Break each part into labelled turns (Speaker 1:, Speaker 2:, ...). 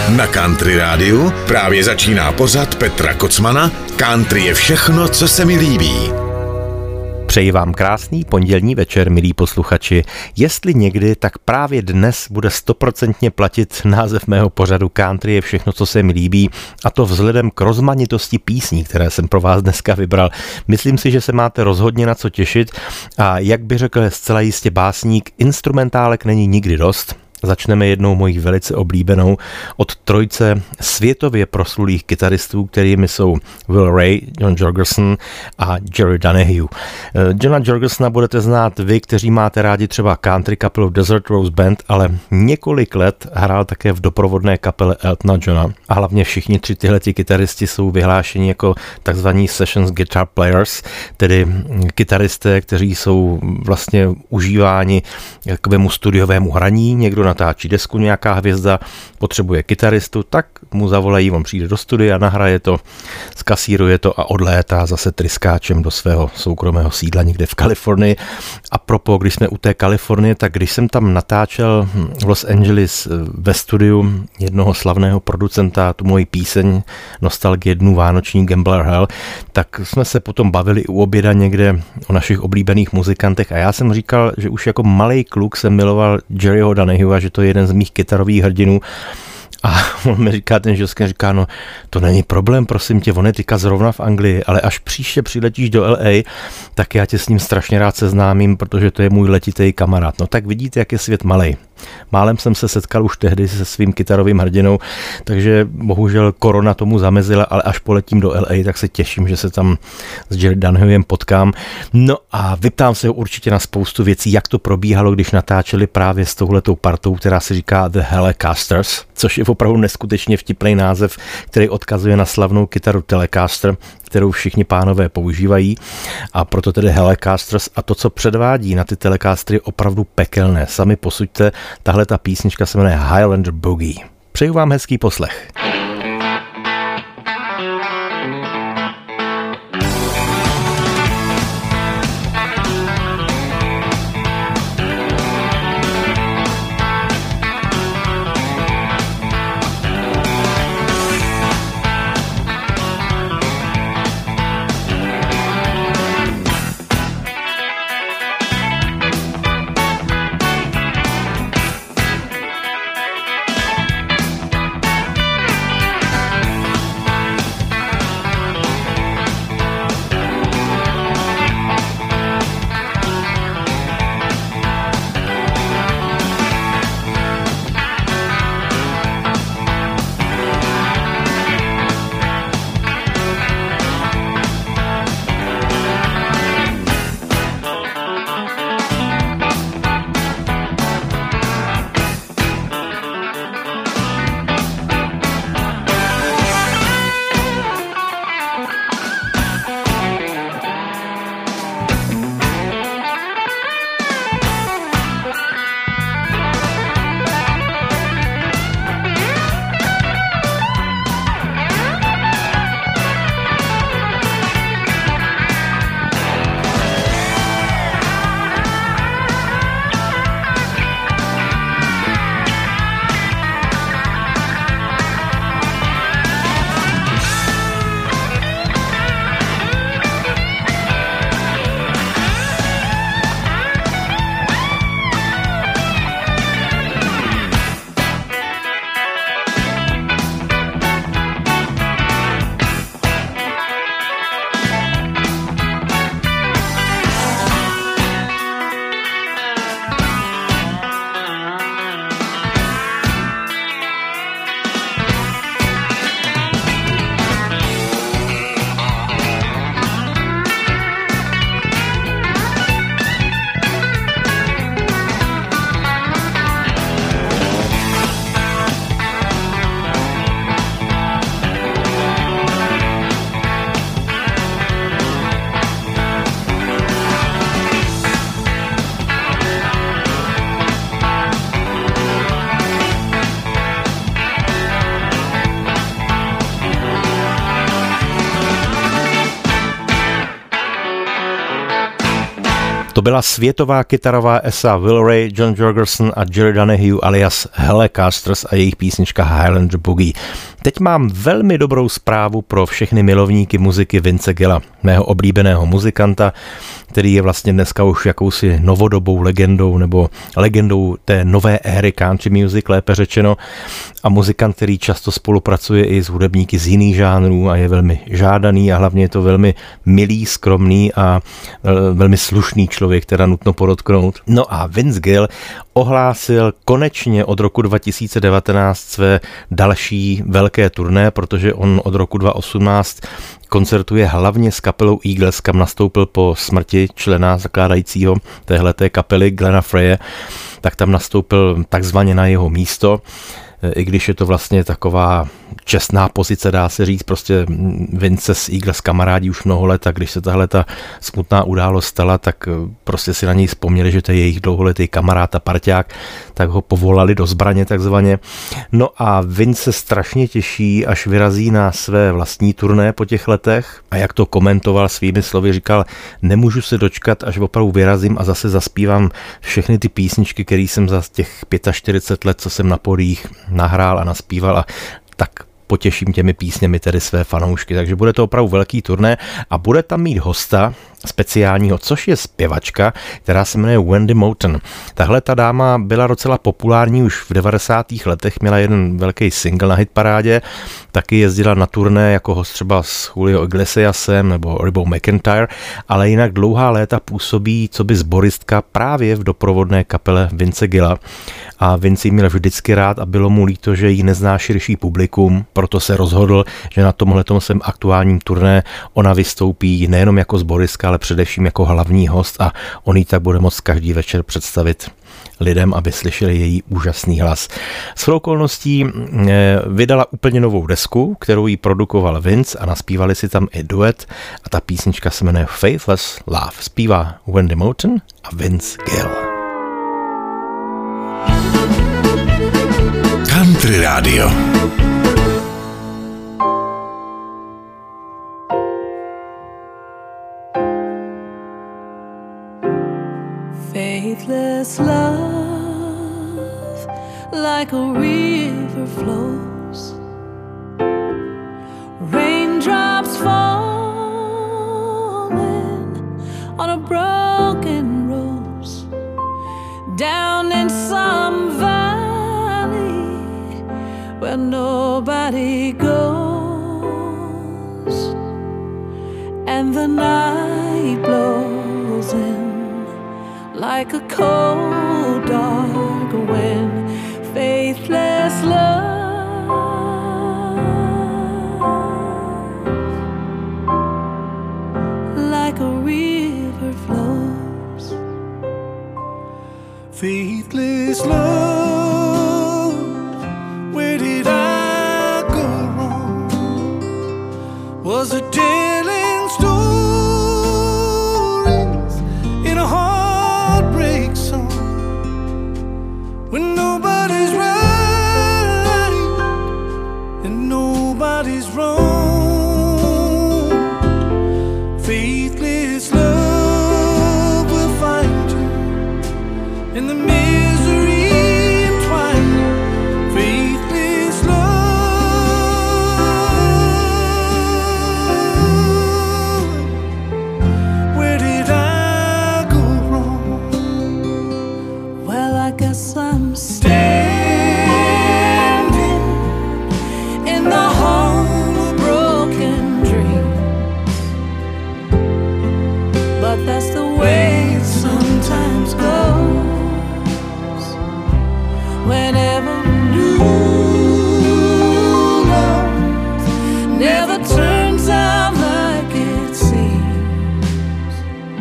Speaker 1: Na Country Rádiu právě začíná pořad Petra Kocmana Country je všechno, co se mi líbí.
Speaker 2: Přeji vám krásný pondělní večer, milí posluchači. Jestli někdy, tak právě dnes bude 100% platit název mého pořadu Country je všechno, co se mi líbí, a to vzhledem k rozmanitosti písní, které jsem pro vás dneska vybral. Myslím si, že se máte rozhodně na co těšit a jak by řekl zcela jistě básník, instrumentálek není nikdy dost. Začneme jednou mojí velice oblíbenou od trojce světově proslulých kytaristů, kterými jsou Will Ray, John Jorgensen a Jerry Donahue. Johna Jorgensena budete znát vy, kteří máte rádi třeba country kapelu Desert Rose Band, ale několik let hrál také v doprovodné kapele Eltona Johna. A hlavně všichni tři tyhleti kytaristi jsou vyhlášeni jako takzvaní sessions guitar players, tedy kytaristé, kteří jsou vlastně užíváni k takovému studiovému hraní. Někdo natáčí desku, nějaká hvězda potřebuje kytaristu, tak mu zavolají, on přijde do studia, nahraje to, skasíruje to a odlétá zase tryskáčem do svého soukromého sídla někde v Kalifornii. A propos, když jsme u té Kalifornie, tak když jsem tam natáčel v Los Angeles ve studiu jednoho slavného producenta tu moji píseň Nostalgie dnů vánoční Gambler Hell, tak jsme se potom bavili u oběda někde o našich oblíbených muzikantech a já jsem říkal, že už jako malej kluk jsem miloval Jerryho Donahue a že to je jeden z mých kytarových hrdinů. A on mi říká, ten Žilský říká, no to není problém, prosím tě, on je teďka zrovna v Anglii, ale až příště přiletíš do LA, tak já tě s ním strašně rád seznámím, protože to je můj letitý kamarád. No tak vidíte, jak je svět malej. Málem jsem se setkal už tehdy se svým kytarovým hrdinou, takže bohužel korona tomu zamezila, ale až poletím do LA, tak se těším, že se tam s Jerry Donahuem potkám. No a vyptám se ho určitě na spoustu věcí, jak to probíhalo, když natáčeli právě s touhletou partou, která se říká The Helicasters, což je opravdu neskutečně vtipný název, který odkazuje na slavnou kytaru Telecaster, kterou všichni pánové používají, a proto tedy Helicasters, a to, co předvádí na ty Telecastery, je opravdu pekelné. Sami posuďte, tahle ta písnička se jmenuje Highlander Boogie. Přeju vám hezký poslech. byla světová kytarová esa Will Ray, John Jorgensen a Jerry Donahue alias Helicasters a jejich písnička Highlander Boogie. Teď mám velmi dobrou zprávu pro všechny milovníky muziky Vince Gilla, mého oblíbeného muzikanta, který je vlastně dneska už jakousi novodobou legendou nebo legendou té nové éry country music, lépe řečeno, a muzikant, který často spolupracuje i s hudebníky z jiných žánrů a je velmi žádaný a hlavně je to velmi milý, skromný a velmi slušný člověk, teda nutno podotknout. No a Vince Gill ohlásil konečně od roku 2019 své další velké turné, protože on od roku 2018 koncertuje hlavně s kapelou Eagles, kam nastoupil po smrti člena zakládajícího téhleté kapely Glena Freya, tak tam nastoupil takzvaně na jeho místo, i když je to vlastně taková čestná pozice, dá se říct, prostě Vince s Eagles kamarádí už mnoho let a když se tahle ta smutná událost stala, tak prostě si na něj vzpomněli, že to je jejich dlouholetý kamarád a parťák, tak ho povolali do zbraně takzvaně. No a Vince se strašně těší, až vyrazí na své vlastní turné po těch letech a jak to komentoval svými slovy, říkal, nemůžu se dočkat, až opravdu vyrazím a zase zaspívám všechny ty písničky, které jsem za těch 45 let, co jsem na podích nahrál a naspíval a tak potěším těmi písněmi tedy své fanoušky. Takže bude to opravdu velký turné a bude tam mít hosta speciálního, což je zpěvačka, která se jmenuje Wendy Moten. Tahle ta dáma byla docela populární už v 90. letech, měla jeden velký single na hitparádě, taky jezdila na turné jako host třeba s Julio Iglesiasem nebo Ribou McEntire, ale jinak dlouhá léta působí coby sboristka právě v doprovodné kapele Vince Gilla. A Vince ji měl vždycky rád a bylo mu líto, že ji nezná širší publikum, proto se rozhodl, že na tomhletom svém aktuálním turné ona vystoupí nejenom jako sboristka, ale především jako hlavní host a on ji tak bude moct každý večer představit lidem, aby slyšeli její úžasný hlas. Shodou okolností vydala úplně novou desku, kterou jí produkoval Vince a naspívali si tam i duet a ta písnička se jmenuje Faithless Love. Zpívá Wendy Moten a Vince Gill.
Speaker 1: Country Radio.
Speaker 3: Faithless love, like a river flows, raindrops falling on a broken rose, down in some valley where nobody goes, and the night blows in like a cold, dark wind. Faithless love, like a river flows.
Speaker 4: Faithless love, where did I go wrong? Was it telling stories in a heartbreak song when nobody's right and nobody's wrong? Faithless love will find you in the misery entwined. Faithless love, where did I go wrong?
Speaker 3: Well, I guess I'm
Speaker 4: Standing
Speaker 3: in the home of broken dreams, but that's the way it sometimes goes. Whenever new love never turns out like it seems,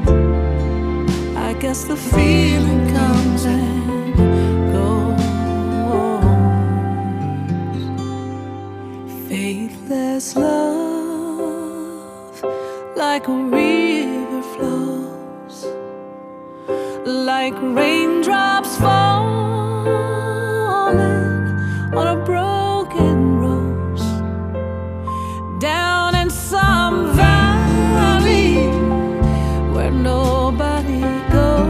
Speaker 3: I guess the feeling comes and goes. Faithless love, like a river flows, like raindrops falling on a broken rose, down in some valley where nobody goes.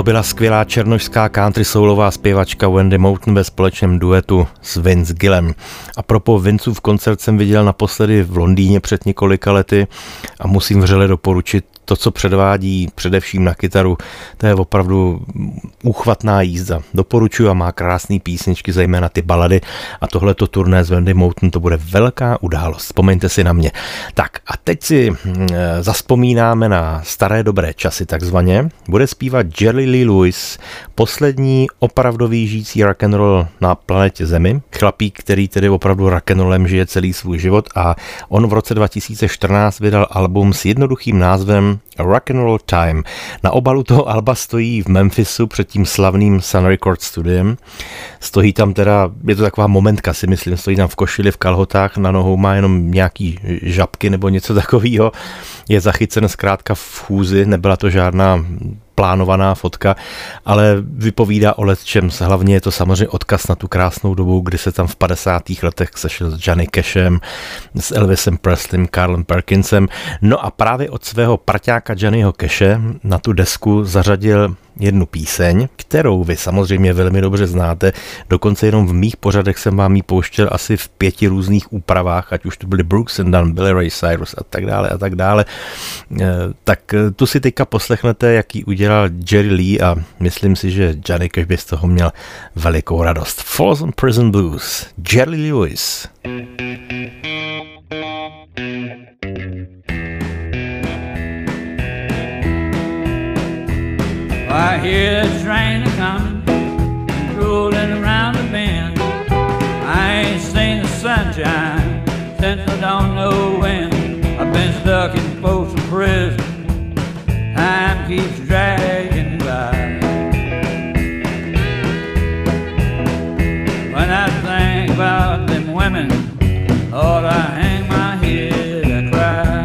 Speaker 2: To byla skvělá černošská country soulová zpěvačka Wendy Moulton ve společném duetu s Vince Gillem. A propos Vincův koncert jsem viděl naposledy v Londýně před několika lety a musím vřele doporučit to, co předvádí především na kytaru, to je opravdu úchvatná jízda. Doporučuji a má krásné písničky, zejména ty balady a tohleto turné s Wendy Moulton, to bude velká událost. Vzpomeňte si na mě. Tak a teď si zaspomínáme na staré dobré časy takzvaně. Bude zpívat Jerry Lee Lewis, poslední opravdový žijící rock'n'roll na planetě Zemi. Chlapík, který tedy opravdu rock'n'rollem žije celý svůj život a on v roce 2014 vydal album s jednoduchým názvem Rock'n'Roll Time. Na obalu toho alba stojí v Memphisu před tím slavným Sun Records studiem. Stojí tam teda, je to taková momentka si myslím, stojí tam v košili, v kalhotách, na nohou má jenom nějaký žabky nebo něco takového. Je zachycen zkrátka v chůzi, nebyla to žádná plánovaná fotka, ale vypovídá o lecčems. Hlavně je to samozřejmě odkaz na tu krásnou dobu, kdy se tam v 50. letech sešel s Johnny Cashem, s Elvisem Presleym, Carlem Perkinsem. No a právě od svého parťáka Johnnyho Cashe na tu desku zařadil jednu píseň, kterou vy samozřejmě velmi dobře znáte, dokonce jenom v mých pořadech jsem vám ji pouštěl asi v 5 různých úpravách, ať už to byly Brooks and Dunn, Billy Ray Cyrus a tak dále a tak dále. Tak tu si teďka poslechnete, jak ji udělal Jerry Lee a myslím si, že Johnny Cash by z toho měl velikou radost. Folsom Prison Blues, Jerry Lewis.
Speaker 5: I hear the train coming, rolling around the bend. I ain't seen the sunshine since I don't know when. I've been stuck in Folsom Prison, time keeps dragging by. When I think about them women, Lord, I hang my head and cry.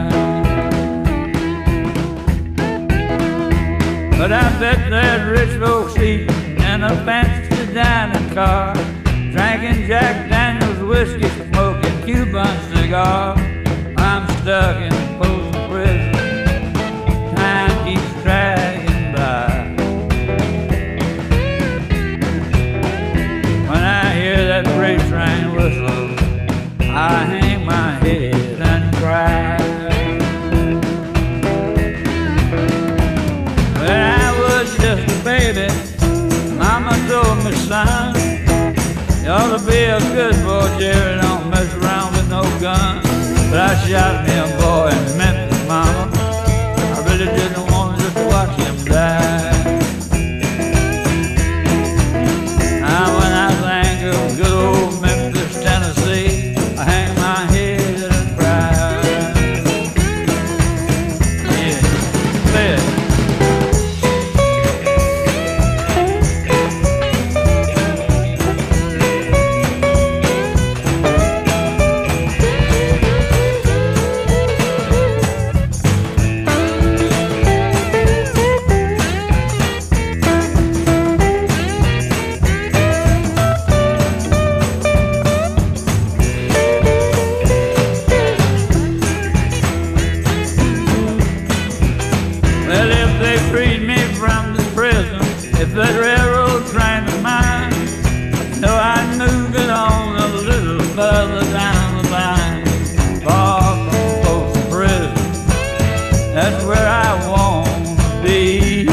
Speaker 5: But I bet there's rich folks eating in a fancy dining car, drinking Jack Daniels whiskey, smoking Cuban cigars. I'm stuck in Folsom Prison, time keeps dragging by. When I hear that freight train whistle, I hang my head and cry. When I was just a baby, Mama told me, son, you ought to be a good boy, Jerry, don't mess around with no gun. But I shot me a boy in Memphis, Mama, I really didn't want just to watch him die. Now when I think of good old Memphis, Tennessee, I hang my head and cry. Yeah, say it. That railroad train of mine, so I moved it on a little further down the line, far from Folsom Prison. That's where I want to be.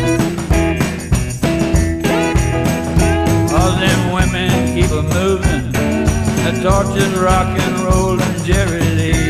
Speaker 5: All them women keep a moving, the torches rock and rollin' Jerry Lee.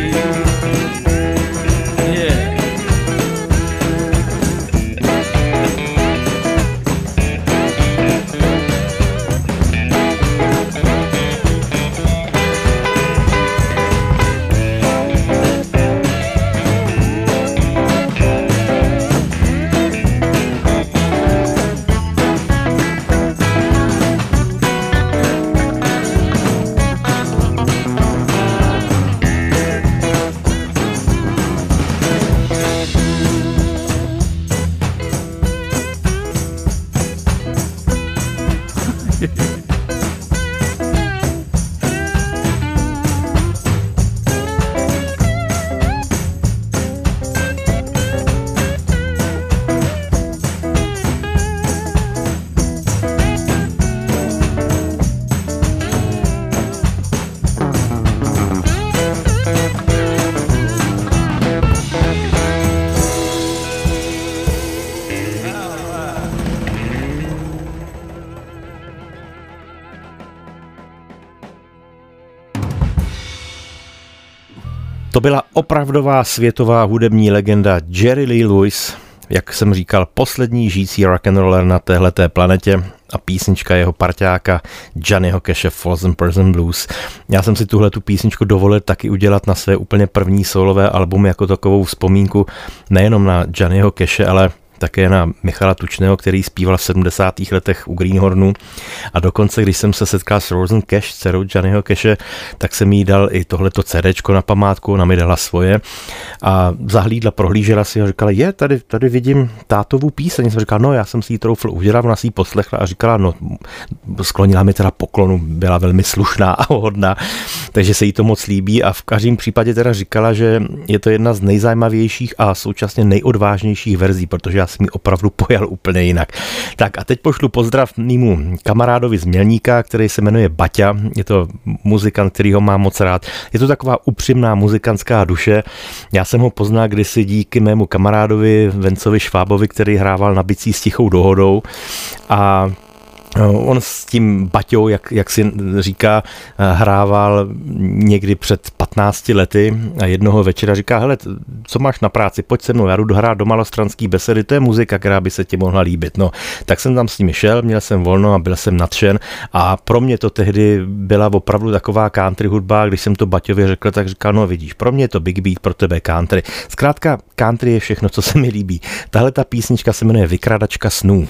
Speaker 2: To byla opravdová světová hudební legenda Jerry Lee Lewis, jak jsem říkal, poslední žijící rock'n'roller na téhleté planetě a písnička jeho parťáka Johnnyho Cashe Frozen Person Blues. Já jsem si tuhletu písničku dovolil taky udělat na své úplně první solové album jako takovou vzpomínku nejenom na Johnnyho Cashe, ale také na Michala Tučného, který zpíval v 70. letech u Greenhornu. A dokonce, když jsem se setkal s Rosen Cash, dcerou Johnnyho Cashe, tak jsem jí dal i tohleto CDčko na památku, ona mi dala svoje a zahlídla, prohlížela si a říkala, tady vidím tátovu píseň. Jsem říkal, no já jsem si ji troufl udělat, ona si ji poslechla a říkala, no sklonila mi teda poklonu, byla velmi slušná a hodná, takže se jí to moc líbí a v každém případě teda říkala, že je to jedna z nejzajímavějších a současně nejodvážnějších verzí, protože já jsem ji opravdu pojal úplně jinak. Tak a teď pošlu pozdrav mému kamarádovi z Mělníka, který se jmenuje Baťa. Je to muzikant, který ho mám moc rád. Je to taková upřímná muzikantská duše. Já jsem ho poznal kdysi díky mému kamarádovi Vencovi Švábovi, který hrával na bicí s Tichou dohodou a on s tím Baťou, jak si říká, hrával někdy před 15 lety a jednoho večera říká, hele, co máš na práci, pojď se mnou, já jdu hrát do Malostranský besedy, to je muzika, která by se ti mohla líbit. No, tak jsem tam s nimi šel, měl jsem volno a byl jsem nadšen a pro mě to tehdy byla opravdu taková country hudba, když jsem to Baťovi řekl, tak říkal, no vidíš, pro mě je to big beat, pro tebe country. Zkrátka, country je všechno, co se mi líbí. Tahle ta písnička se jmenuje Vykradačka snů.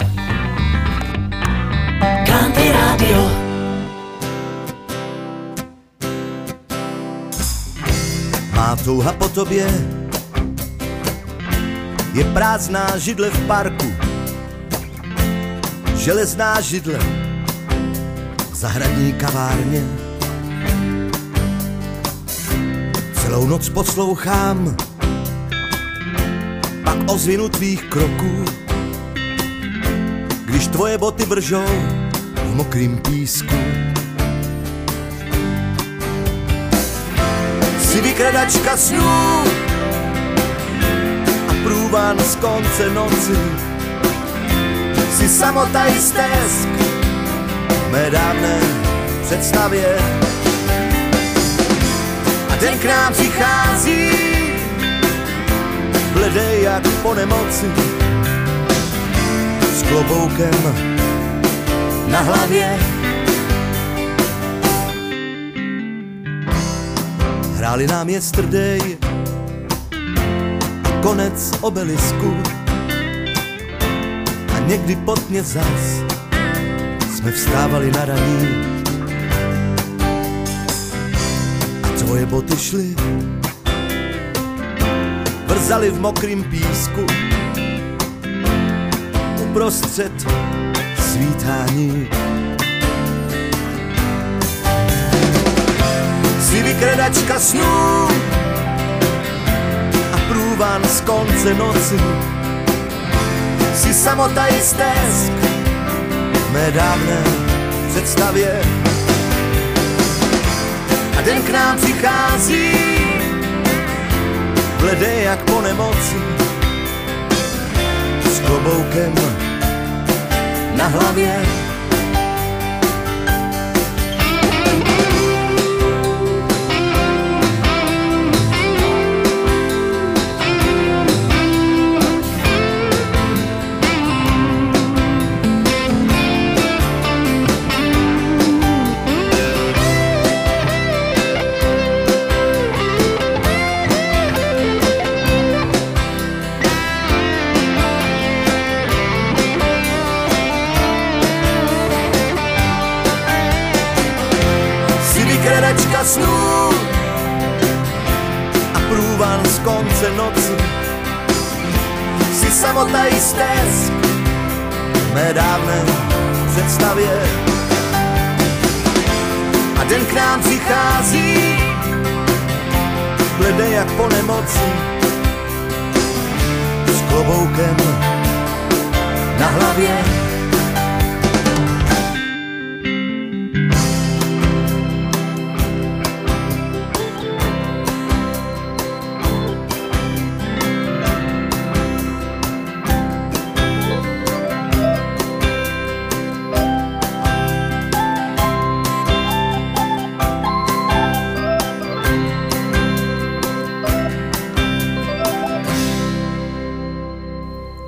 Speaker 6: Country Radio.
Speaker 4: Má touha po tobě je prázdná židle v parku, železná židle v zahradní kavárně. Celou noc poslouchám pak ozvěnu tvých kroků, když tvoje boty vržou v mokrým písku. Jsi vykradačka snů a průvan z konce noci. Jsi samota i stesk v mé dávné představě. A den k nám přichází bledej jak po nemoci, s kloboukem na hlavě. Hráli nám Yesterday a konec Obelisku a někdy pod mě zas jsme vstávali na raní a tvoje boty šly, vrzaly v mokrým písku uprostřed svítání. Jsi vykradačka snů a průvan z konce noci. Jsi samota i stesk v mé dávné představě. A den k nám přichází bledej jak po nemoci, s kloboukem na hlavě. Snů a průvan z konce noci. Jsi samota i stesk v mé dávné představě. A den k nám přichází bledej jak po nemoci, s kloboukem na hlavě.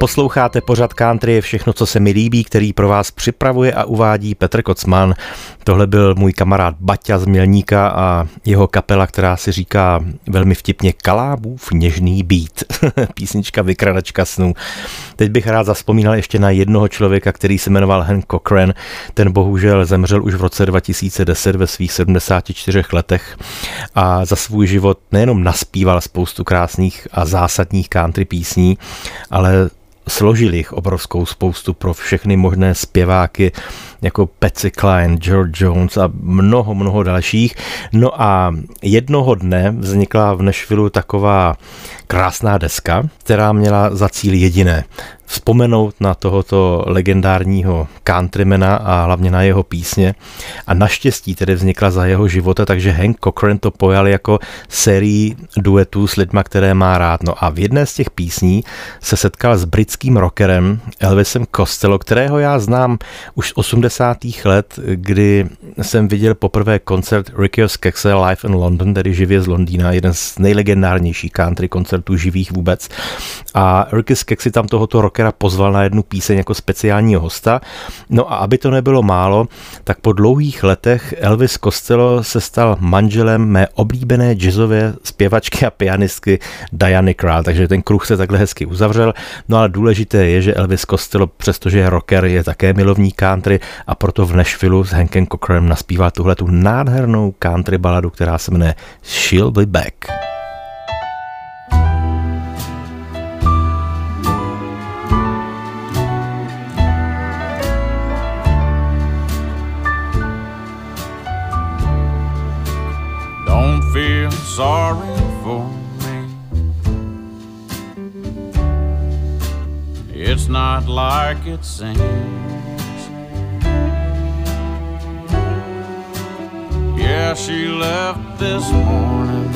Speaker 2: Posloucháte pořad Country je všechno, co se mi líbí, který pro vás připravuje a uvádí Petr Kocman. Tohle byl můj kamarád Baťa z Mělníka a jeho kapela, která si říká velmi vtipně Kalábův něžný beat. Písnička Vykradačka snů. Teď bych rád zavzpomínal ještě na jednoho člověka, který se jmenoval Hank Cochran. Ten bohužel zemřel už v roce 2010 ve svých 74 letech a za svůj život nejenom naspíval spoustu krásných a zásadních country písní, ale složil jich obrovskou spoustu pro všechny možné zpěváky, jako Patsy Cline, George Jones a mnoho dalších. No a jednoho dne vznikla v Nashvillu taková krásná deska, která měla za cíl jediné: vzpomenout na tohoto legendárního countrymana a hlavně na jeho písně. A naštěstí tedy vznikla za jeho života, takže Hank Cochran to pojal jako sérii duetů s lidma, které má rád. No a v jedné z těch písní se setkal s britským rockerem Elvisem Costello, kterého já znám už z 80. let, kdy jsem viděl poprvé koncert Rickyho Skekse Live in London, tedy živě z Londýna, jeden z nejlegendárnějších country koncertů živých vůbec. A Ricky Skek si tam tohoto rockera pozval na jednu píseň jako speciálního hosta. No a aby to nebylo málo, tak po dlouhých letech Elvis Costello se stal manželem mé oblíbené jazzové zpěvačky a pianistky Diany Krall, takže ten kruh se takhle hezky uzavřel. No ale důležité je, že Elvis Costello, přestože je rocker, je také milovník country a proto v Nashvillu s Hankem Cochranem naspíval tuhletu nádhernou country baladu, která se jmenuje She'll Be Back.
Speaker 5: Don't feel sorry for me. It's not like it seems. Yeah, she left this morning.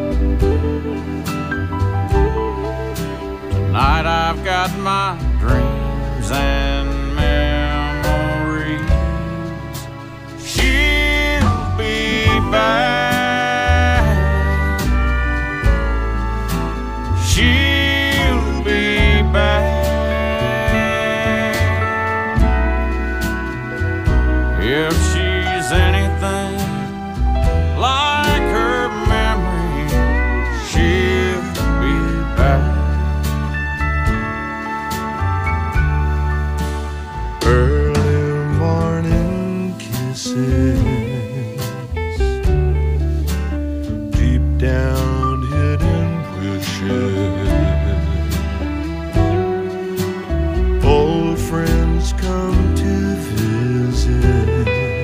Speaker 5: Tonight I've got my dreams and memories. She'll be back. She'll be back. If she's anything like her memory, she'll be back.
Speaker 4: Early morning kisses, deep down hidden wishes, old friends come to visit.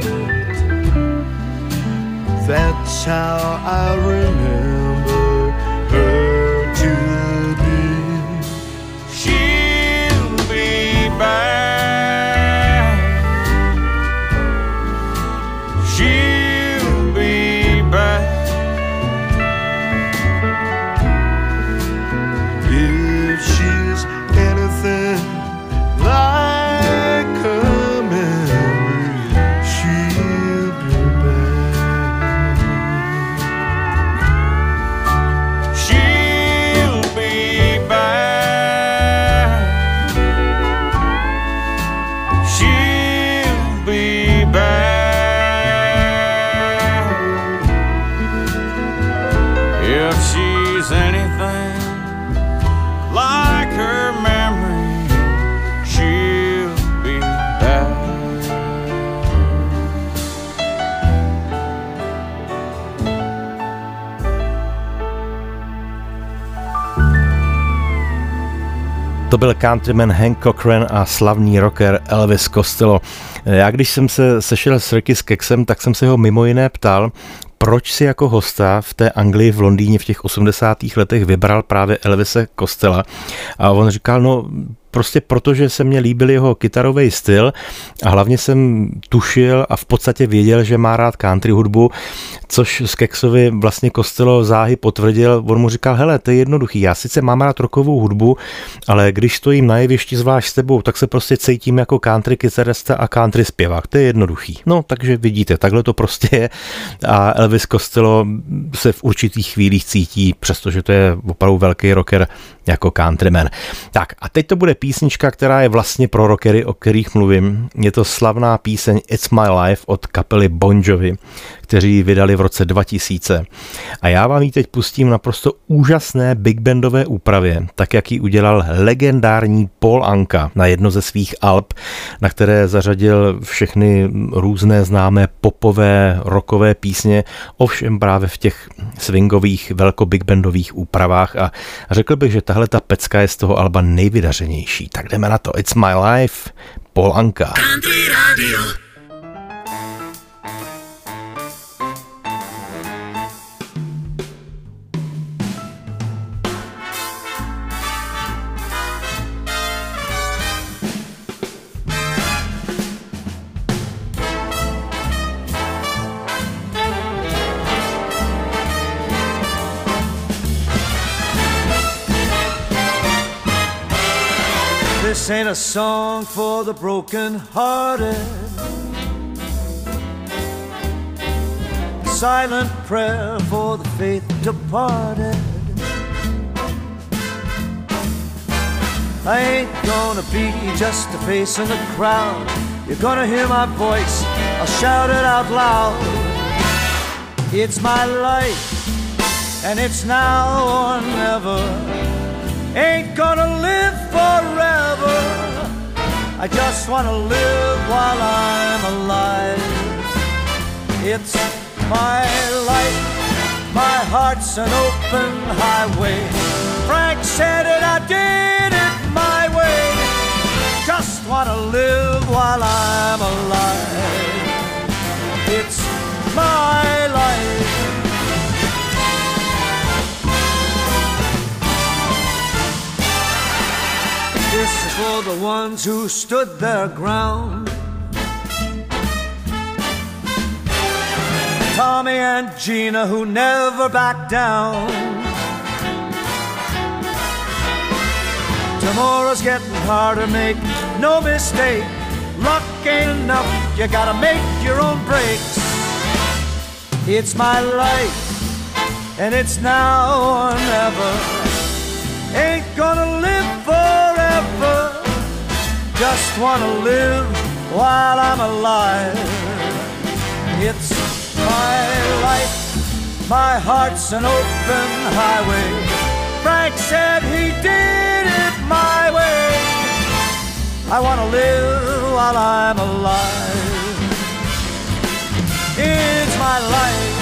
Speaker 4: That's how I remember her to be.
Speaker 5: She'll be back. She'll be back.
Speaker 4: If she's anything like her memory, she'll be back.
Speaker 5: She'll be back. She'll be back. If she's anything like her memory, she'll be back.
Speaker 2: To byl countryman Hank Cochran a slavný rocker Elvis Costello. Já když jsem se sešel s Ricky Skeksem, tak jsem se ho mimo jiné ptal, proč si jako hosta v té Anglii v Londýně v těch 80. letech vybral právě Elvise Costella. A on říkal, no prostě protože se mně líbil jeho kytarový styl a hlavně jsem tušil a v podstatě věděl, že má rád country hudbu, což Skeksovi vlastně Costello záhy potvrdil. On mu říkal, hele, to je jednoduchý, já sice mám rád rockovou hudbu, ale když stojím na jevišti zvlášť s tebou, tak se prostě cítím jako country kytarista a country zpěvák, to je jednoduchý. No, takže vidíte, takhle to prostě je a Elvis Costello se v určitých chvílích cítí, přestože to je opravdu velký rocker, jako countryman. Tak a teď to bude písnička, která je vlastně pro rockery, o kterých mluvím. Je to slavná píseň It's My Life od kapely Bon Jovi, kteří ji vydali v roce 2000. A já vám ji teď pustím naprosto úžasné big bandové úpravě, tak jak ji udělal legendární Paul Anka na jedno ze svých alb, na které zařadil všechny různé známé popové, rockové písně, ovšem právě v těch swingových, velko big bandových úpravách a řekl bych, že tahle ta pecka je z toho alba nejvydařenější. Tak jdeme na to. It's My Life, Paul Anka.
Speaker 6: Country Radio.
Speaker 4: This ain't a song for the broken-hearted. Silent prayer for the faith departed. I ain't gonna be just a face in the crowd. You're gonna hear my voice, I'll shout it out loud. It's my life, and it's now or never. Ain't gonna live forever. I just wanna live while I'm alive. It's my life, my heart's an open highway. Frank said it, I did it my way. Just wanna live while I'm alive. It's my life. This is for the ones who stood their ground. Tommy and Gina who never backed down. Tomorrow's getting harder, make no mistake. Luck ain't enough, you gotta make your own breaks. It's my life, and it's now or never. Ain't gonna live forever. Just wanna live while I'm alive. It's my life, my heart's an open highway. Frank said he did it my way. I wanna live while I'm alive. It's my life.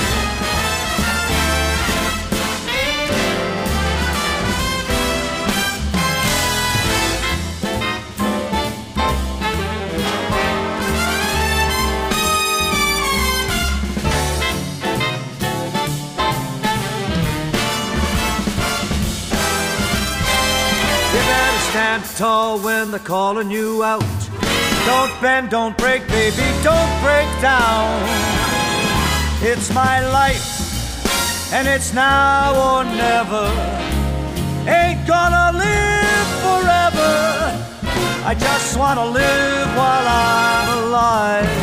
Speaker 4: Stand tall when they're calling you out. Don't bend, don't break, baby, don't break down. It's my life, and it's now or never. Ain't gonna live forever. I just wanna live while I'm alive.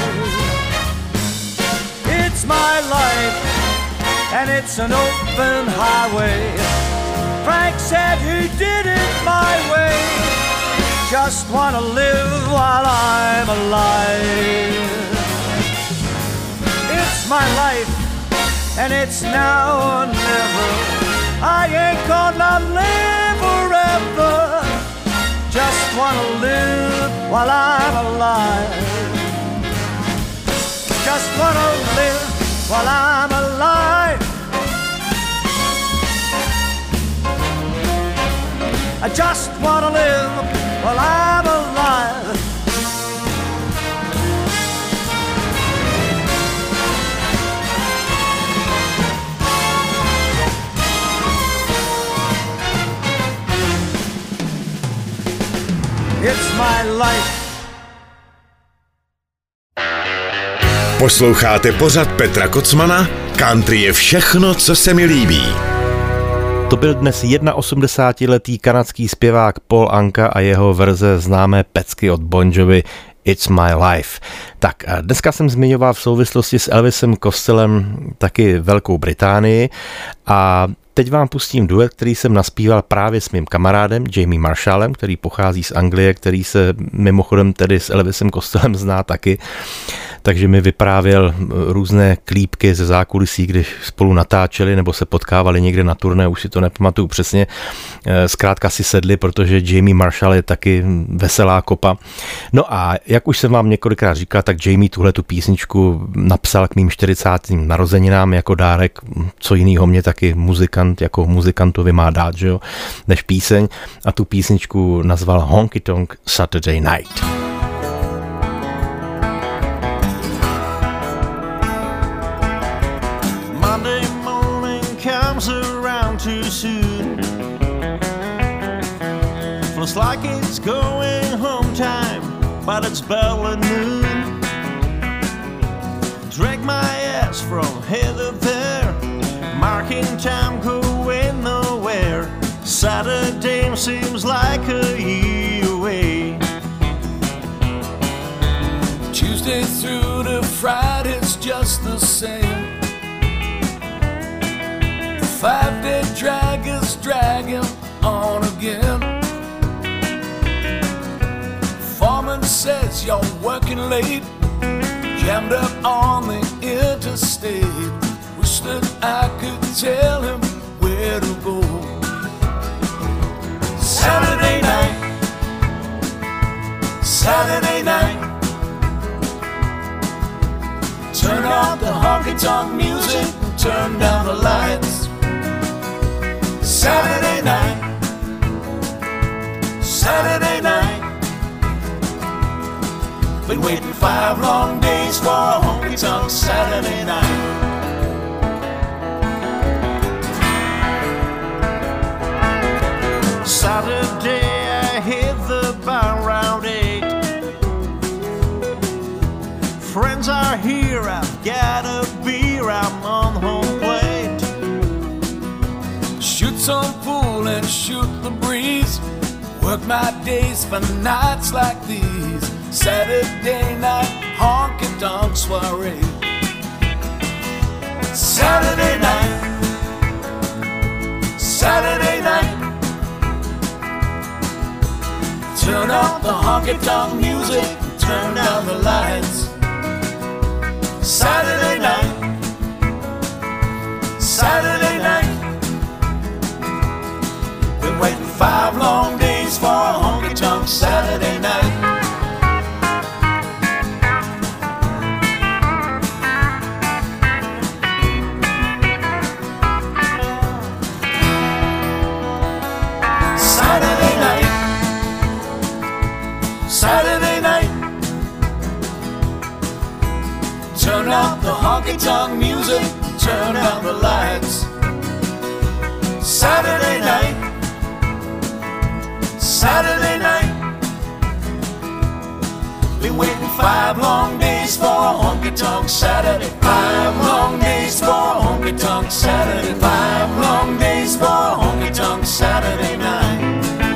Speaker 4: It's my life, and it's an open highway. Frank said he did it my way. Just wanna live while I'm alive. It's my life, and it's now or never. I ain't gonna live forever. Just wanna live while I'm alive. Just wanna live while I'm alive. I just wanna live while I'm alive. It's my life.
Speaker 1: Posloucháte pořad Petra Kocmana? Country je všechno, co se mi líbí.
Speaker 2: To byl dnes 81letý kanadský zpěvák Paul Anka a jeho verze známé pecky od Bon Jovi It's My Life. Tak dneska jsem zmiňoval v souvislosti s Elvisem Costellem taky Velkou Británii a Teď vám pustím duet, který jsem naspíval právě s mým kamarádem Jamie Marshallem, který pochází z Anglie, který se mimochodem tedy s Elvisem Costellem zná taky. Takže mi vyprávěl různé klípky ze zákulisí, když spolu natáčeli nebo se potkávali někde na turné, už si to nepamatuju přesně. Zkrátka si sedli, protože Jamie Marshall je taky veselá kopa. No a jak už jsem vám několikrát říkal, tak Jamie tuhletu písničku napsal k mým 40. narozeninám jako dárek. Co jinýho mě taky muzikant jako muzikantovi má dát, že jo, než píseň. A tu písničku nazval Honky Tonk Saturday Night.
Speaker 6: Too soon. Feels like it's going home time, but it's barely noon. Drag my ass from here to there, marking time going nowhere. Saturday seems like a year away.
Speaker 7: Tuesday through to Friday's just the same. 5-day drag is dragging on again. Foreman says you're working late, jammed up on the interstate. Wish that I could tell him where to go. Saturday night, Saturday night. Turn out the honky-tonk music, turn down the lights. Saturday night, Saturday night. Been waiting 5 long days for a honky-tonk Saturday night.
Speaker 6: Saturday I hit the bar around 8. Friends are here, I've got a beer, I'm on home plate.
Speaker 7: Shoot some pool and shoot the breeze. Work my days for nights like these. Saturday night honky-tonk soiree. Saturday night, Saturday night. Turn up the honky-tonk music, turn down the lights. Saturday night, Saturday night. Been waiting 5 long days for a honky-tonk Saturday night. Saturday night, Saturday night. Turn up the honky-tonk music, turn down the lights. Saturday night, Saturday night. Been waiting 5 long days for a honky-tonk Saturday. 5 long days for a honky-tonk Saturday. 5 long days for a honky-tonk Saturday night.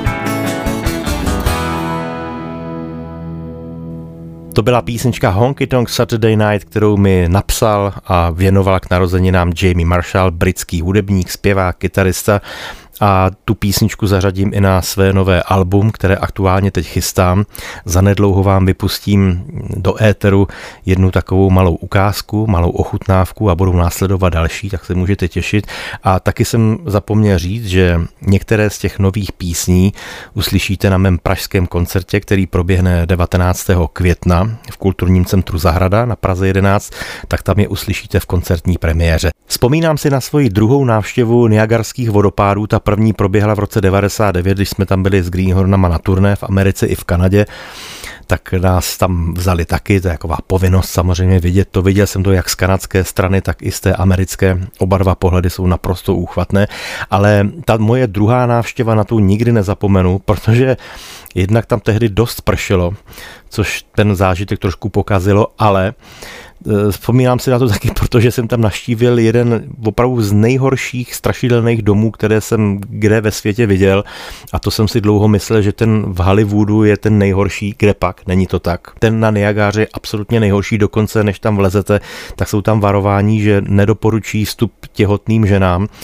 Speaker 2: To byla písnička Honky Tonk Saturday Night, kterou mi napsal a věnoval k narozeninám Jamie Marshall, britský hudebník, zpěvák, kytarista. A tu písničku zařadím i na své nové album, které aktuálně teď chystám. Zanedlouho vám vypustím do éteru jednu takovou malou ukázku, malou ochutnávku a budou následovat další, tak se můžete těšit. A taky jsem zapomněl říct, že některé z těch nových písní uslyšíte na mém pražském koncertě, který proběhne 19. května v Kulturním centru Zahrada na Praze 11, tak tam je uslyšíte v koncertní premiéře. Vzpomínám si na svoji druhou návštěvu Niagarských vodopádů. Ta první proběhla v roce 99, když jsme tam byli s Greenhornama na turné v Americe i v Kanadě, tak nás tam vzali taky, to je taková povinnost samozřejmě vidět to. Viděl jsem to jak z kanadské strany, tak i z té americké. Oba dva pohledy jsou naprosto úchvatné, ale ta moje druhá návštěva, na tu nikdy nezapomenu, protože jednak tam tehdy dost pršelo, což ten zážitek trošku pokazilo, ale vzpomínám si na to taky, protože jsem tam navštívil jeden opravdu z nejhorších strašidelných domů, které jsem kde ve světě viděl, a to jsem si dlouho myslel, že ten v Hollywoodu je ten nejhorší, kde pak, není to tak. Ten na Niagáře je absolutně nejhorší, dokonce než tam vlezete, tak jsou tam varování, že nedoporučí vstup těhotným ženám, a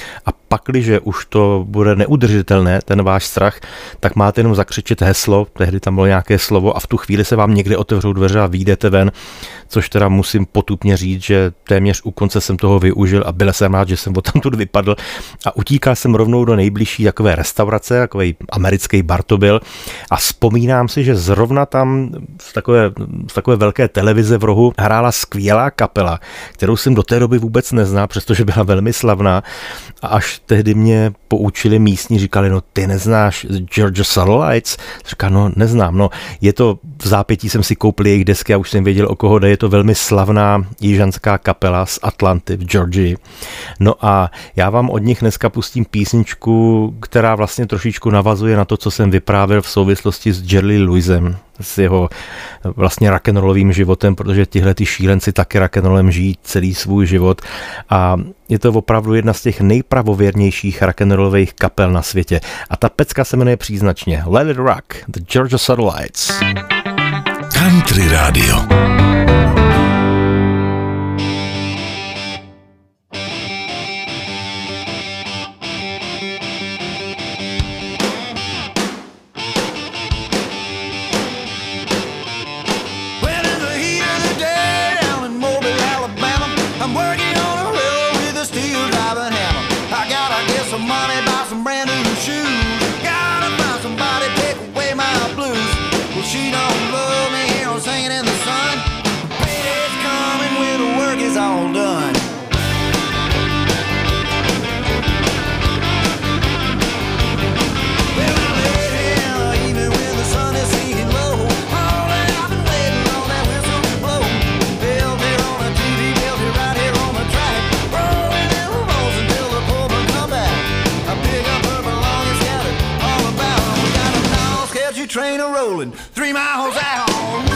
Speaker 2: pakliže už to bude neudržitelné, ten váš strach, tak máte jenom zakřičet heslo, tehdy tam bylo nějaké slovo a v tu chvíli se vám někde otevřou dveře a vyjdete ven, což teda musím potupně říct, že téměř u konce jsem toho využil a byl jsem rád, že jsem odtamtud vypadl a utíkal jsem rovnou do nejbližší takové restaurace, takový americký bar to byl a vzpomínám si, že zrovna tam z takové velké televize v rohu hrála skvělá kapela, kterou jsem do té doby vůbec neznal, přestože byla velmi slavná a až tehdy mě poučili místní, říkali, no ty neznáš Georgia Satellites? Říká, no neznám, no je to, v zápětí jsem si koupil jejich desky a už jsem věděl, o koho jde, je to velmi slavná jižanská kapela z Atlanty v Georgii. No a já vám od nich dneska pustím písničku, která vlastně trošičku navazuje na to, co jsem vyprávěl v souvislosti s Jerry Lewisem, s jeho vlastně rock'n'rollovým životem, protože tihle ty šílenci taky rock'n'rollem žijí celý svůj život a je to opravdu jedna z těch nejpravověrnějších rock'n'rollových kapel na světě. A ta pecka se jmenuje příznačně Let It Rock, The Georgia Satellites.
Speaker 1: Country Radio.
Speaker 4: Train a-rolling 3 miles out.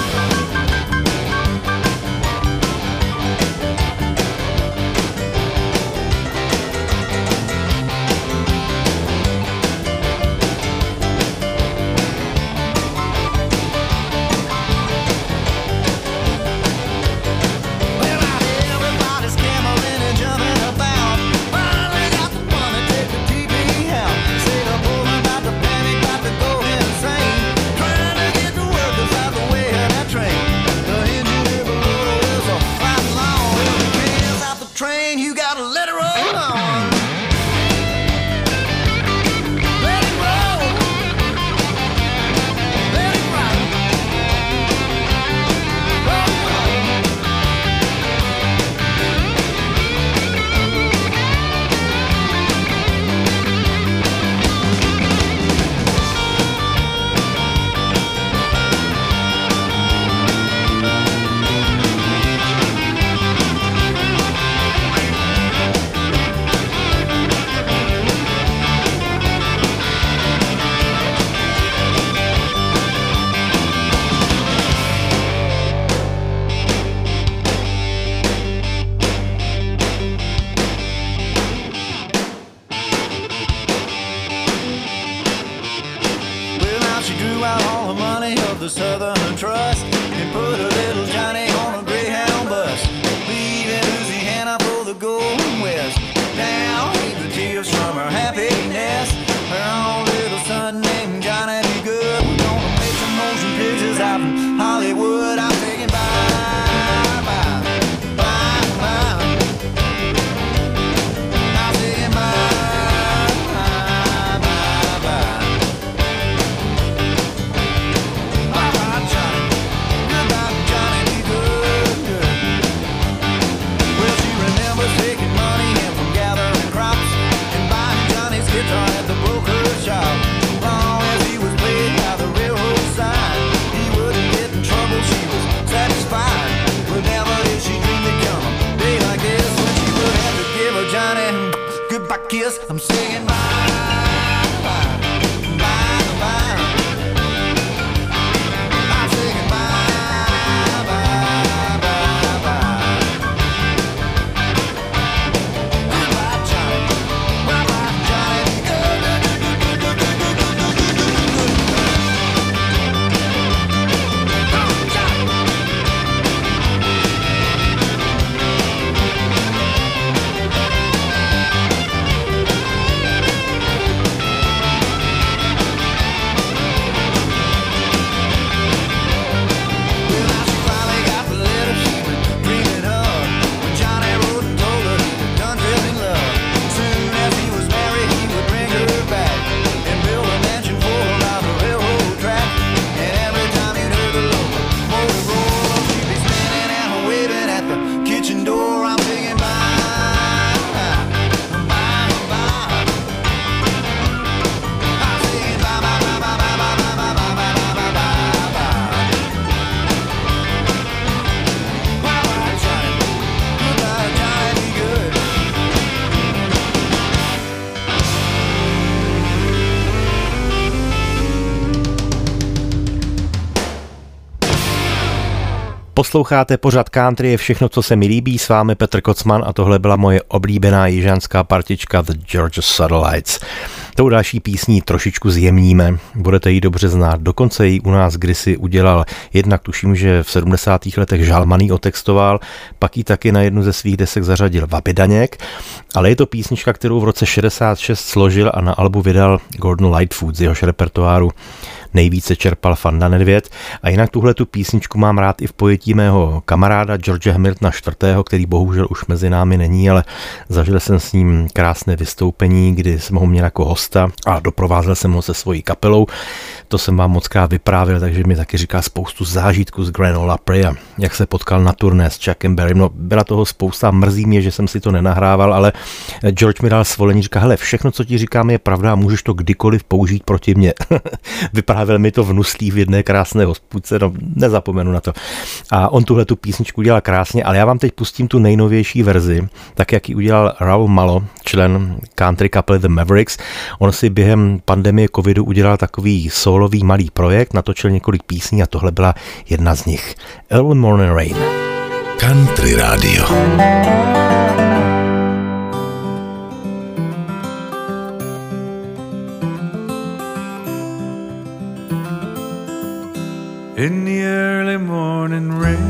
Speaker 4: The Southern Trust and put a little Johnny on a Greyhound bus, leaving Louisiana for the Golden West. Now he's the tears from her happiness. Her own little son named Johnny B. Good. We're gonna make some motion pictures out in Hollywood. I'm thinking bye, bye, bye, bye. I'm thinking bye, bye, bye, bye. Kiss, I'm singing bye, bye, bye, bye. I'm singing bye, bye, bye, bye. Goodbye, Johnny. Bye-bye, Johnny. Johnny.
Speaker 2: Posloucháte pořad Country je všechno, co se mi líbí, s vámi Petr Kocman a tohle byla moje oblíbená jižanská partička The Georgia Satellites. Tou další písní trošičku zjemníme, budete ji dobře znát, dokonce ji u nás kdysi udělal, jednak tuším, že v 70. letech Žalmaný otextoval, pak ji taky na jednu ze svých desek zařadil Vaby Daněk, ale je to písnička, kterou v roce 66 složil a na albu vydal Gordon Lightfoot, z jehož repertoáru nejvíce čerpal Fanda Nedvěd. A jinak tuhle tu písničku mám rád i v pojetí mého kamaráda George Hamiltona IV., který bohužel už mezi námi není, ale zažil jsem s ním krásné vystoupení, kdy jsem ho měl jako hosta a doprovázel jsem ho se svojí kapelou. To jsem vám mockrát vyprávěl, takže mi taky říká spoustu zážitků z Grand Ole Opry a jak se potkal na turné s Chuckem Berrym. No, byla toho spousta, mrzí mě, že jsem si to nenahrával, ale George mi dal svolení, říká, hele, všechno, co ti říkám, je pravda a můžeš to kdykoliv použít proti mně. Vyprávěl mi to v Nuslí v jedné krásné hospůdce, no nezapomenu na to. A on tuhle tu písničku udělal krásně, ale já vám teď pustím tu nejnovější verzi, tak jak ji udělal Raul Malo, člen country kapely The Mavericks. On si během pandemie covidu udělal takový solový malý projekt, natočil několik písní a tohle byla jedna z nich. Early Morning Rain.
Speaker 1: Country Radio.
Speaker 5: In the early morning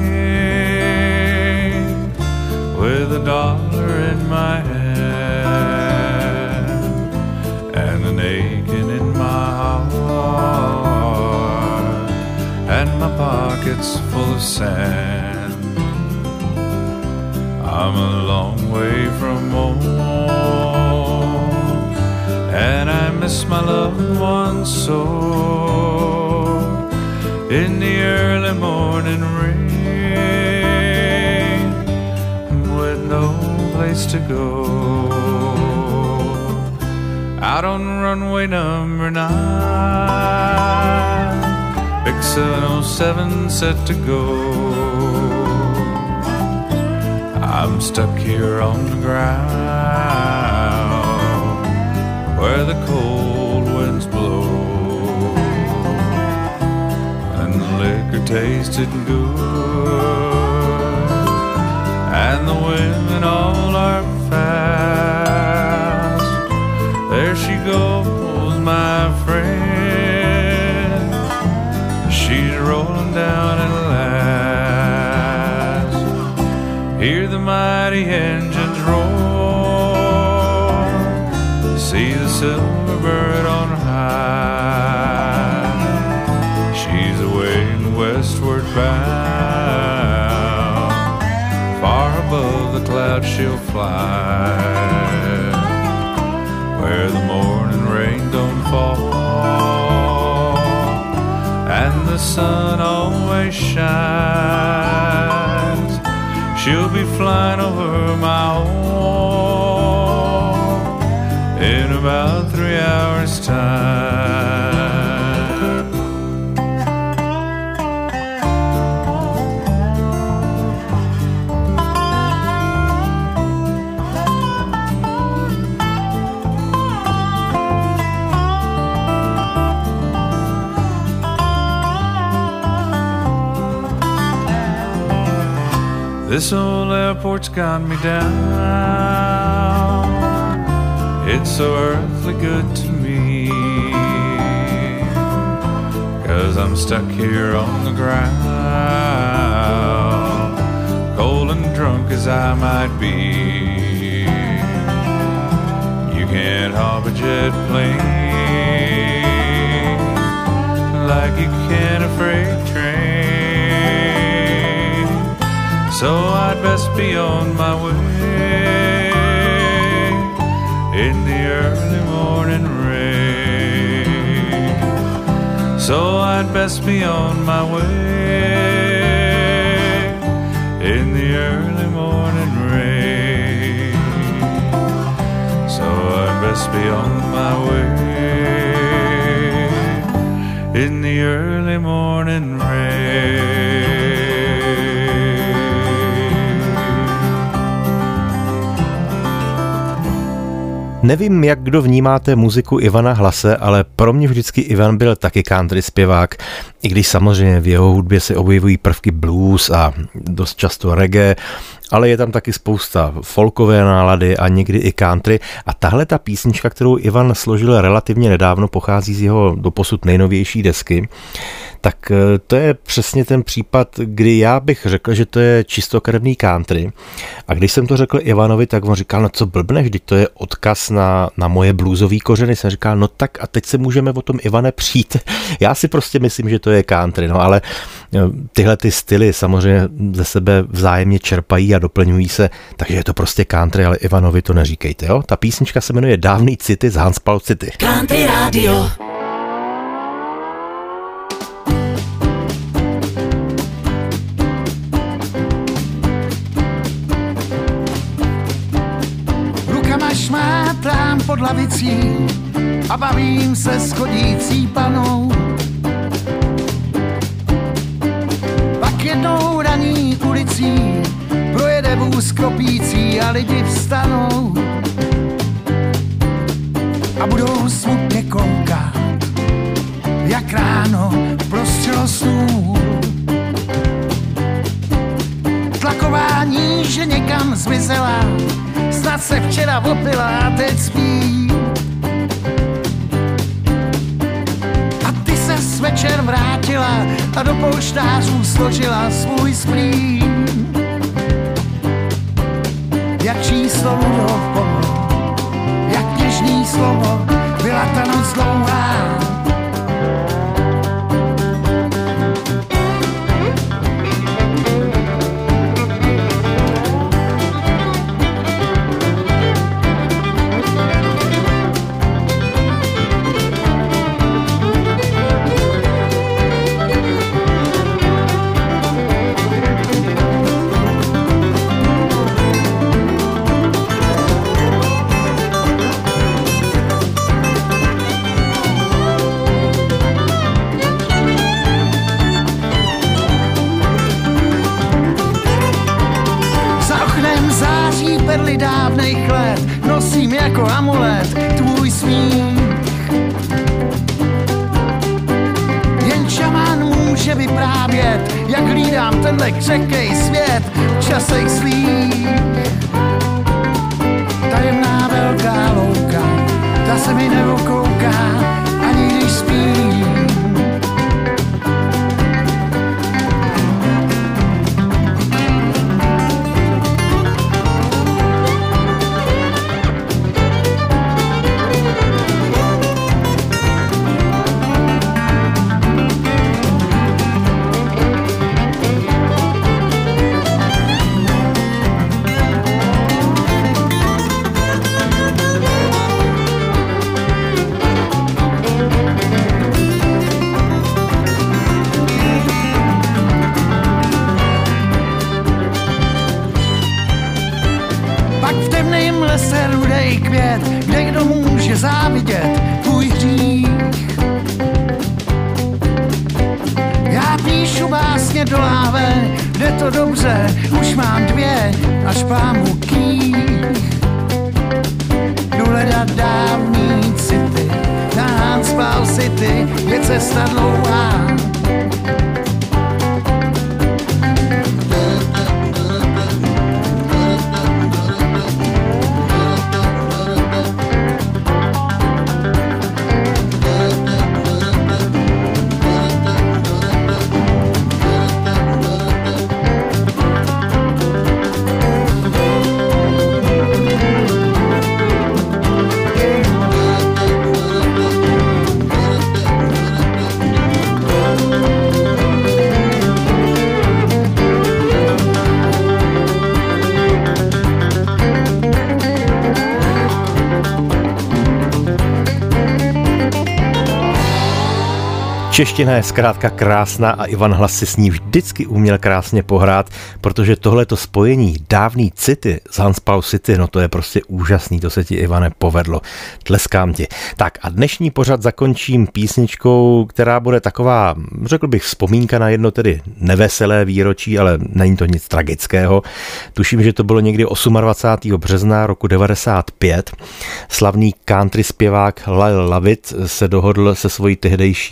Speaker 5: rain, with $1 in my hand and an aching in my heart and my pockets full of sand, I'm a long way from home and I miss my loved ones so. In the early morning rain, with no place to go, out on runway number 9, Big 707 set to go. I'm stuck here on the ground where the cold winds blow. Liquor tasted good and the women all are fast. There she goes, my friend, she's rolling down at last. Hear the mighty engines roar, see the silver bird on high. She's away westward bound, far above the clouds she'll fly, where the morning rain don't fall and the sun always shines. She'll be flying over my home in about 3 hours' time. This old airport's got me down. It's so earthly good to me, 'cause I'm stuck here on the ground, cold and drunk as I might be. You can't hop a jet plane like you can a freight train. So I'd best be on my way in the early morning rain. So I'd best be on my way in the early morning rain. So I'd best be on my way in the early morning rain.
Speaker 2: Nevím, jak kdo vnímáte muziku Ivana Hlase, ale pro mě vždycky Ivan byl taky country zpěvák. I když samozřejmě v jeho hudbě se objevují prvky blues a dost často reggae, ale je tam taky spousta folkové nálady a někdy i country. A tahle ta písnička, kterou Ivan složil relativně nedávno, pochází z jeho doposud nejnovější desky, tak to je přesně ten případ, kdy já bych řekl, že to je čistokrevný country. A když jsem to řekl Ivanovi, tak on říkal, no co blbneš, vždyť to je odkaz na moje bluesový kořeny. Jsem říkal, no tak a teď se můžeme o tom, Ivane, přijít. Já si prostě myslím, že to je country, no ale tyhle ty styly samozřejmě ze sebe vzájemně čerpají a doplňují se, takže je to prostě country, ale Ivanovi to neříkejte, jo? Ta písnička se jmenuje Dávný city z Hanspal City.
Speaker 7: Country Radio.
Speaker 8: Rukama šmátrám pod lavicí a bavím se s chodící panou. Pak jednou raní ulicí projede vůz kropící a lidi vstanou a budou smutně koukat, jak ráno prostřelo stůl. Tlakování, že někam zmizela, snad se včera opila a teď spí. A ty se večer vrátila a do polštářů složila svůj splín. Jak číslo Ludov, jak něžný slovo, byla ta noc dlouhá. Perly dávnej let nosím jako amulet tvůj smích. Jen šamán může vyprávět, jak hlídám tenhle křehkej svět v časech zlých. Tajemná velká louka, ta se mi nevokouká, ani když spím. Kde kdo může závidět tvůj hřích. Já píšu básně do láve, jde to dobře, už mám 2 až pámu kých. Jdu hledat dávný city, na Hanspal City je cesta dlouhá.
Speaker 2: Čeština je zkrátka krásná a Ivan Hlas si s ní vždycky uměl krásně pohrát, protože tohleto spojení dávný city z Hanspal City, no to je prostě úžasný, to se ti, Ivane, povedlo. Tleskám ti. Tak a dnešní pořad zakončím písničkou, která bude taková, řekl bych, vzpomínka na jedno tedy neveselé výročí, ale není to nic tragického. Tuším, že to bylo někdy 28. března roku 95. Slavný country zpěvák Lyle Lovett se dohodl se svojí tehdejší manželkou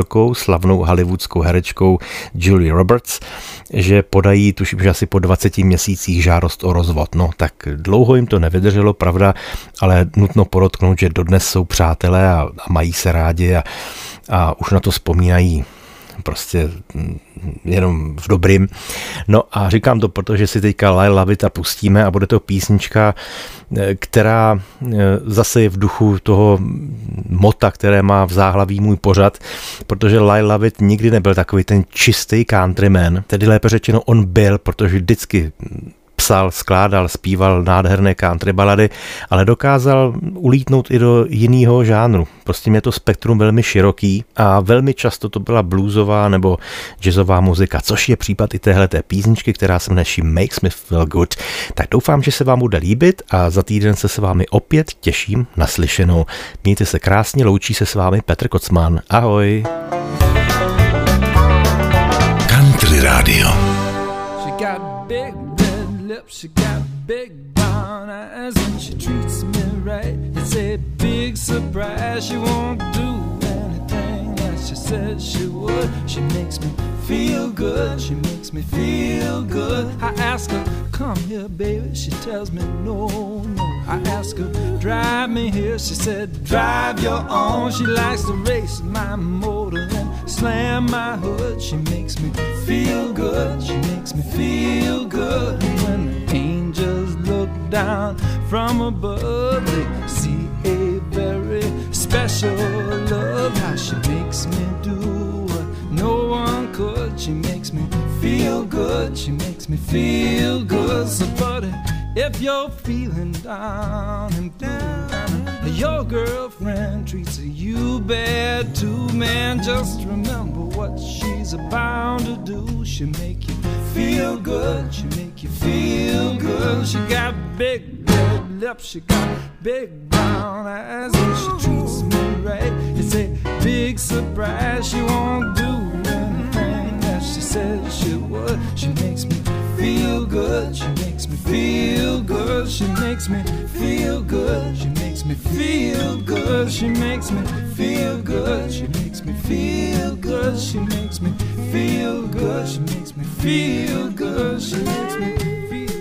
Speaker 2: manželkou, slavnou hollywoodskou herečkou Julie Roberts, že podají, tuším, že asi po 20 měsících žádost o rozvod. No tak dlouho jim to nevydrželo, pravda, ale nutno podotknout, že dodnes jsou přátelé a mají se rádi a už na to vzpomínají prostě jenom v dobrým. No a říkám to, protože si teďka I Love It pustíme a bude to písnička, která zase je v duchu toho mota, které má v záhlaví můj pořad, protože I Love It nikdy nebyl takový ten čistý countryman, tedy lépe řečeno on byl, protože vždycky psal, skládal, zpíval nádherné country balady, ale dokázal ulítnout i do jiného žánru. Prostě mě to spektrum velmi široký a velmi často to byla bluesová nebo jazzová muzika, což je případ i téhleté písničky, která se jmenuje She Makes Me Feel Good. Tak doufám, že se vám bude líbit a za týden se s vámi opět těším na slyšenou. Mějte se krásně, loučí se s vámi Petr Kocman. Ahoj.
Speaker 1: Country Radio.
Speaker 5: She got big brown eyes and she treats me right. It's a big surprise. She won't do anything that she said she would. She makes me feel good. She makes me feel good. I ask her, come here, baby. She tells me no, no. I ask her, drive me here. She said, drive your own. She likes to race my motor and slam my hood. She makes me feel good. She makes me feel good. When the angels look down from above, they see a very special love. How she makes me do what no one could. She makes me feel good. She makes me feel good. So buddy, if you're feeling down and blue, your girlfriend treats you bad too, man, just remember what she's about to do. She'll make you feel good. She'll make you feel good. She got big red lips. She got big brown eyes, and she treats me right. It's a big surprise. She won't do anything that she says she would. She makes me feel good. She makes me feel good. She makes me feel good. She makes me feel good. She makes me feel good. She makes me feel good. She makes me feel good. She makes me feel good. She makes me feel good.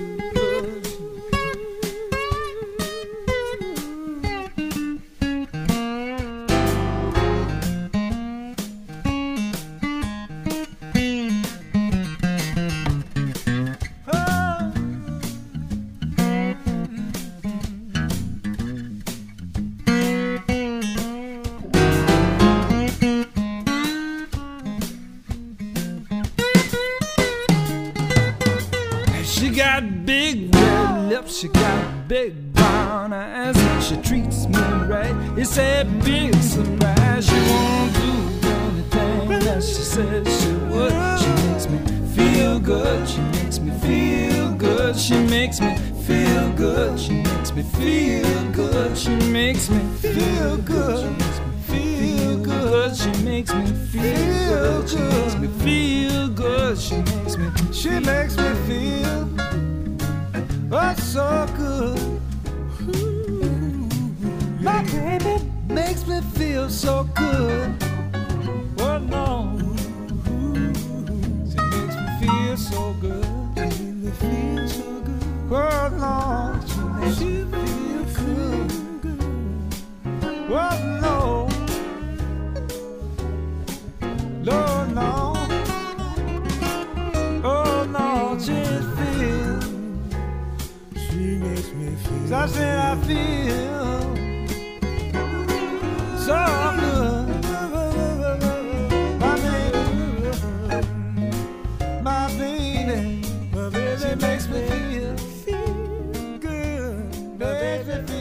Speaker 5: She got big brown eyes and she treats me right. It's a big surprise. She won't do anything that she says she would. She makes me feel good. She makes me feel good. She makes me feel good. She makes me feel good. She makes me feel good. She makes me feel good. She makes me feel good. She makes me feel good. She makes me feel. Oh, so good. My baby makes me feel so good. Oh no, she makes me feel so good. She makes me feel so good. Oh no, she makes me feel good. Oh no, no, no. Oh no, she feels. I said I feel so good. My baby, she makes me feel good. My baby.